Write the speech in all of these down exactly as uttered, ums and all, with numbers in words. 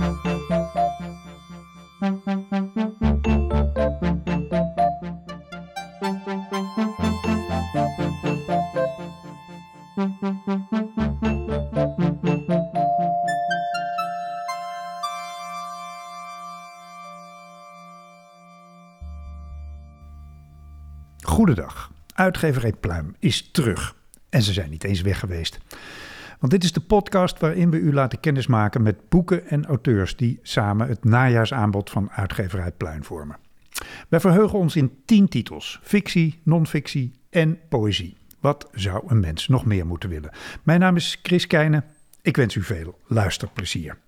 Goedendag. Uitgeverij Pluim is terug. En ze zijn niet eens weg geweest. Want dit is de podcast waarin we u laten kennismaken met boeken en auteurs die samen het najaarsaanbod van Uitgeverij Pluim vormen. Wij verheugen ons in tien titels. Fictie, non-fictie en poëzie. Wat zou een mens nog meer moeten willen? Mijn naam is Chris Keijne. Ik wens u veel luisterplezier.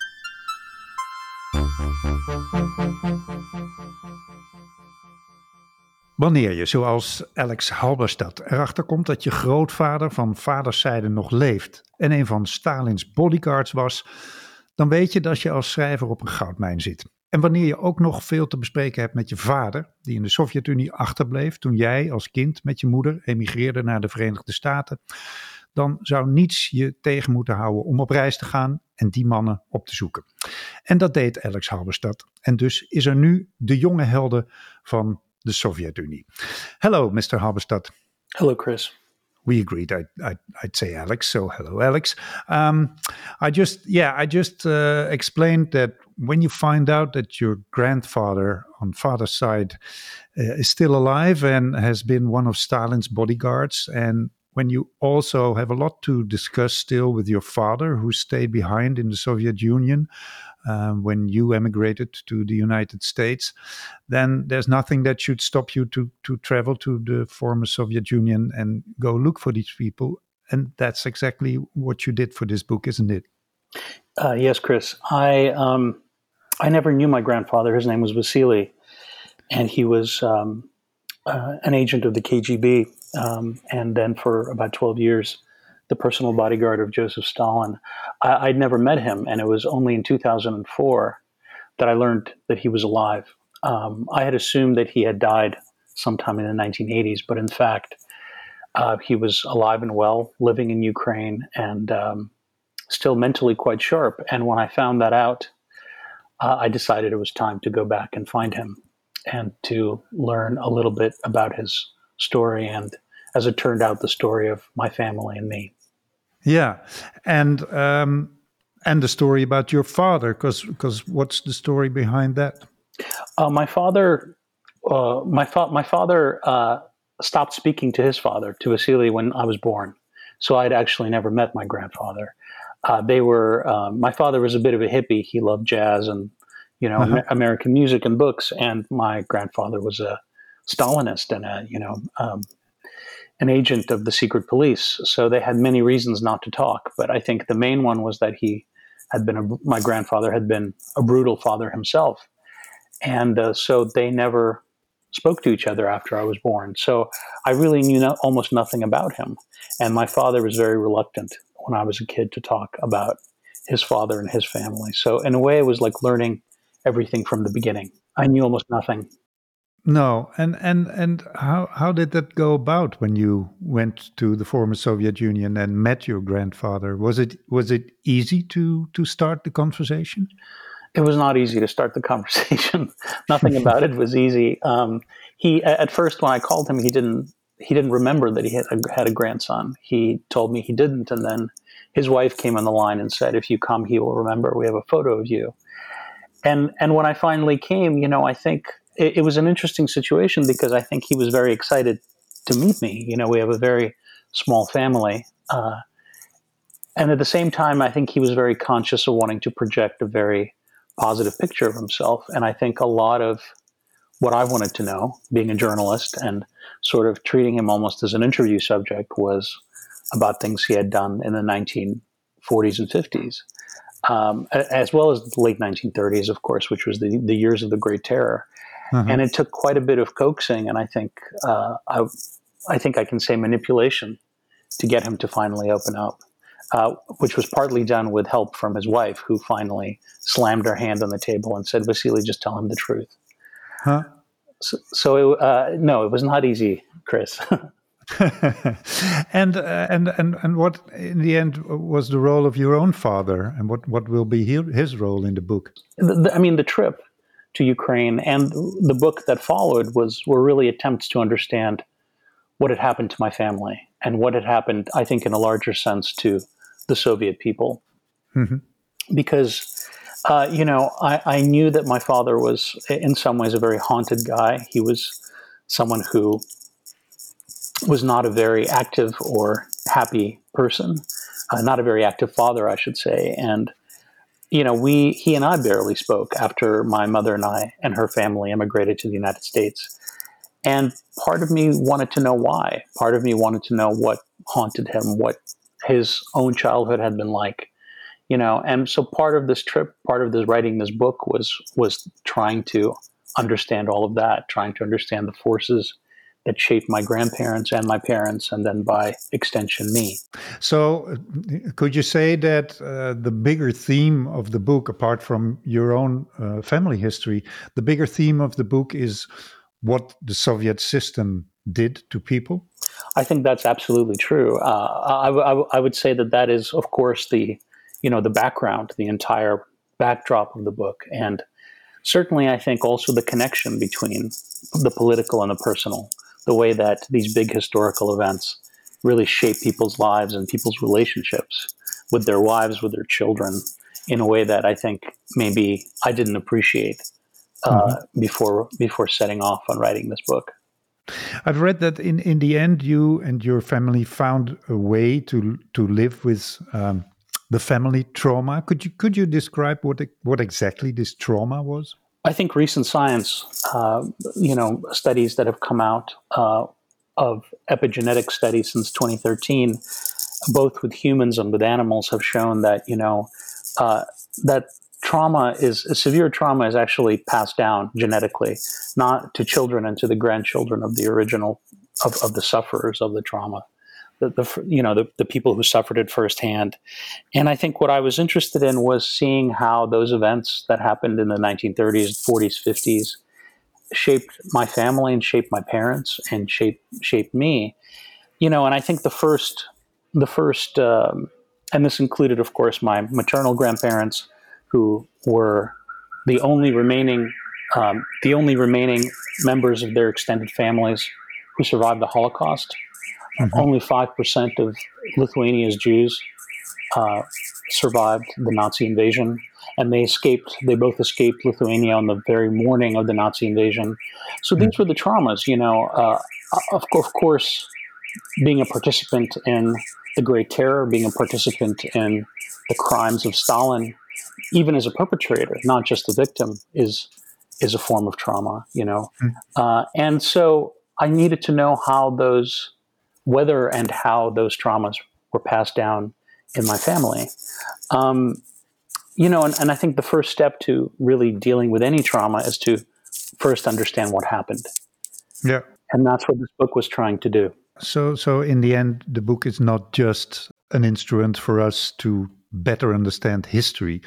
Wanneer je, zoals Alex Halberstad, erachter komt dat je grootvader van vaderszijde nog leeft en een van Stalins bodyguards was, dan weet je dat je als schrijver op een goudmijn zit. En wanneer je ook nog veel te bespreken hebt met je vader, die in de Sovjet-Unie achterbleef toen jij als kind met je moeder emigreerde naar de Verenigde Staten, dan zou niets je tegen moeten houden om op reis te gaan en die mannen op te zoeken. En dat deed Alex Halberstad. En dus is er nu de jonge helden van de Sovjet-Unie. Hello, mister Halberstad. Hello, Chris. We agreed I'd, I'd, I'd say Alex, so hello, Alex. Um, I just, yeah, I just uh, explained that when you find out that your grandfather on father's side uh, is still alive and has been one of Stalin's bodyguards, and when you also have a lot to discuss still with your father, who stayed behind in the Soviet Union um, when you emigrated to the United States, then there's nothing that should stop you to to travel to the former Soviet Union and go look for these people. And that's exactly what you did for this book, isn't it? Uh, yes, Chris. I um, I never knew my grandfather. His name was Vasily, and he was um, uh, an agent of the K G B. Um, and then for about twelve years, the personal bodyguard of Joseph Stalin. I, I'd never met him, and it was only in two thousand four that I learned that he was alive. Um, I had assumed that he had died sometime in the nineteen eighties, but in fact, uh, he was alive and well, living in Ukraine, and um, still mentally quite sharp. And when I found that out, uh, I decided it was time to go back and find him and to learn a little bit about his story, and as it turned out, the story of my family and me. Yeah, and um, and the story about your father, because because what's the story behind that? Uh, my father, uh, my fa- my father uh, stopped speaking to his father, to Vasily, when I was born. So I'd actually never met my grandfather. Uh, they were. Uh, my father was a bit of a hippie. He loved jazz and you know uh-huh. American music and books, and my grandfather was a Stalinist and a, you know, um, an agent of the secret police. So they had many reasons not to talk. But I think the main one was that he had been, a, my grandfather had been a brutal father himself. And uh, so they never spoke to each other after I was born. So I really knew no, almost nothing about him. And my father was very reluctant when I was a kid to talk about his father and his family. So in a way, it was like learning everything from the beginning. I knew almost nothing. No, and and and how how did that go about when you went to the former Soviet Union and met your grandfather? Was it was it easy to to start the conversation? It was not easy to start the conversation. Nothing about it was easy. Um, he at first, when I called him, he didn't he didn't remember that he had a, had a grandson. He told me he didn't, and then his wife came on the line and said, "If you come, he will remember. We have a photo of you." And and when I finally came, you know, I think it, it was an interesting situation because I think he was very excited to meet me. You know, we have a very small family. Uh, and at the same time, I think he was very conscious of wanting to project a very positive picture of himself. And I think a lot of what I wanted to know, being a journalist and sort of treating him almost as an interview subject, was about things he had done in the nineteen forties and fifties. Um, as well as the late nineteen thirties, of course, which was the, the years of the Great Terror. Uh-huh. And it took quite a bit of coaxing, and I think uh, I, I think I can say manipulation, to get him to finally open up, uh, which was partly done with help from his wife, who finally slammed her hand on the table and said, "Vasily, just tell him the truth." Huh? So, so it, uh, no, it was not easy, Chris. and uh, and and and what in the end was the role of your own father, and what what will be he, his role in the book? The, the, I mean, the trip to Ukraine and the book that followed was were really attempts to understand what had happened to my family and what had happened, I think, in a larger sense, to the Soviet people. Mm-hmm. Because, uh, you know, I, I knew that my father was, in some ways, a very haunted guy. He was someone who was not a very active or happy person, uh, not a very active father, I should say. And, you know, we he and I barely spoke after my mother and I and her family immigrated to the United States. And part of me wanted to know why. Part of me wanted to know what haunted him, what his own childhood had been like, you know. And so part of this trip, part of this writing this book was was trying to understand all of that, trying to understand the forces that shaped my grandparents and my parents, and then by extension me. So could you say that uh, the bigger theme of the book, apart from your own uh, family history, the bigger theme of the book is what the Soviet system did to people? I think that's absolutely true. Uh, I, I, I would say that that is, of course, the you know the background, the entire backdrop of the book, and certainly I think also the connection between the political and the personal, the way that these big historical events really shape people's lives and people's relationships with their wives, with their children, in a way that I think maybe I didn't appreciate uh, mm-hmm. before before setting off on writing this book. I've read that in, in the end, you and your family found a way to to live with um, the family trauma. Could you could you describe what what exactly this trauma was? I think recent science, uh, you know, studies that have come out uh, of epigenetic studies since twenty thirteen, both with humans and with animals, have shown that, you know, uh, that trauma is, severe trauma is actually passed down genetically, not to children and to the grandchildren of the original, of, of the sufferers of the trauma, the, the you know, the, the people who suffered it firsthand. And I think what I was interested in was seeing how those events that happened in the nineteen thirties, forties, fifties shaped my family and shaped my parents and shaped shaped me. You know, and I think the first, the first, um, and this included, of course, my maternal grandparents, who were the only remaining, um, the only remaining members of their extended families who survived the Holocaust. Mm-hmm. Only five percent of Lithuania's Jews uh, survived the Nazi invasion, and they escaped. They both escaped Lithuania on the very morning of the Nazi invasion. So mm-hmm. these were the traumas, you know. Uh, of, of course, being a participant in the Great Terror, being a participant in the crimes of Stalin, even as a perpetrator, not just a victim, is is a form of trauma, you know. Mm. Uh, and so I needed to know how those, whether and how those traumas were passed down in my family. Um, you know, and, and I think the first step to really dealing with any trauma is to first understand what happened. Yeah. And that's what this book was trying to do. So, so in the end, the book is not just an instrument for us to better understand history,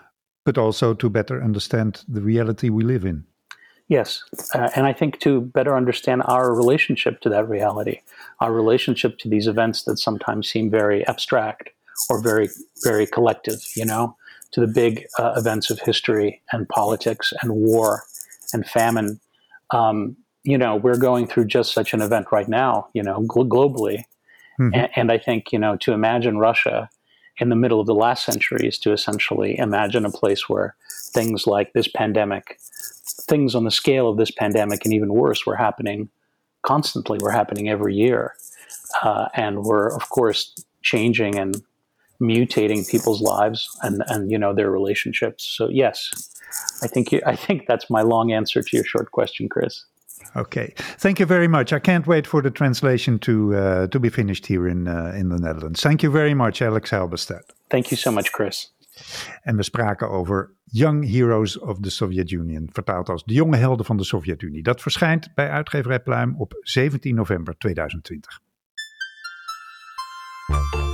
but also to better understand the reality we live in. Yes, uh, and I think to better understand our relationship to that reality, our relationship to these events that sometimes seem very abstract or very, very collective, you know, to the big uh, events of history and politics and war and famine. Um, you know, we're going through just such an event right now, you know, gl- globally. Mm-hmm. And, and I think, you know, to imagine Russia in the middle of the last century is to essentially imagine a place where things like this pandemic, things on the scale of this pandemic and even worse were happening constantly, were happening every year. Uh, and were, of course, changing and mutating people's lives and, and, you know, their relationships. So, yes, I think you, I think that's my long answer to your short question, Chris. Okay, thank you very much. I can't wait for the translation to uh, to be finished here in uh, in the Netherlands. Thank you very much, Alex Halberstad. Thank you so much, Chris. En we spraken over Young Heroes of the Soviet Union, vertaald als De Jonge Helden van de Sovjet-Unie. Dat verschijnt bij uitgeverij Pluim op zeventien november tweeduizend twintig.